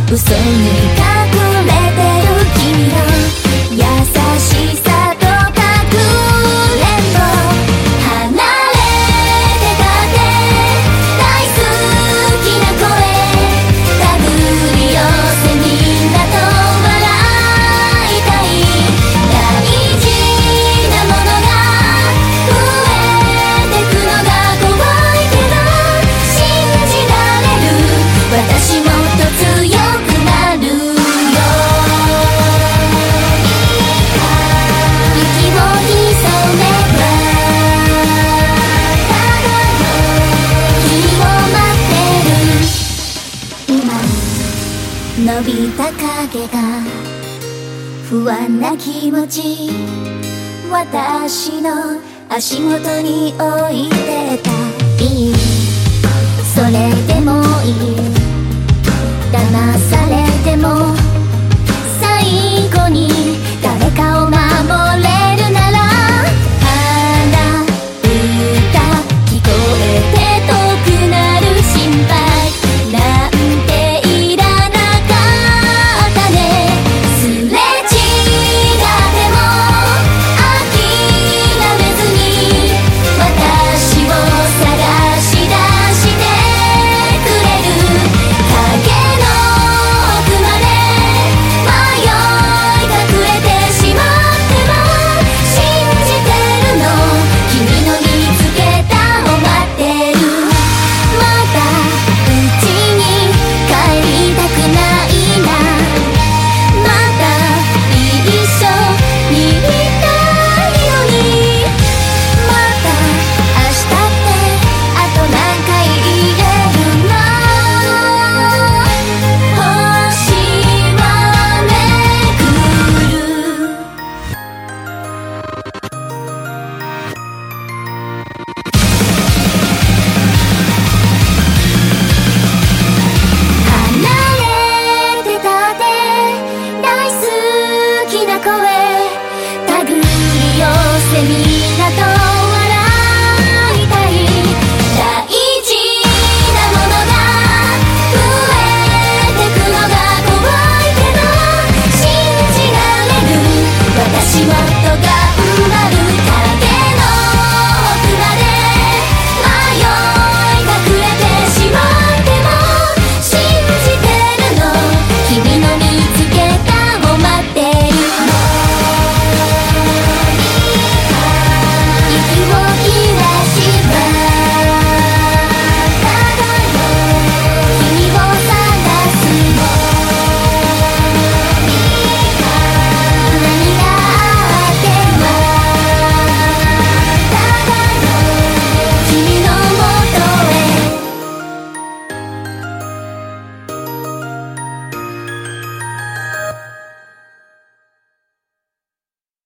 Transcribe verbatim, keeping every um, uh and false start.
嘘に隠れてる君の優しさとかくれんぼ離れてたって大好きな声手繰り寄せみんなと笑いたい大事なものが増えてくのが怖いけど信じられる私もっと強くなるよ息を潜めばただの君を待ってる今伸びた影が不安な気持ち私の足元に置いてたいいそれでもいい騙さ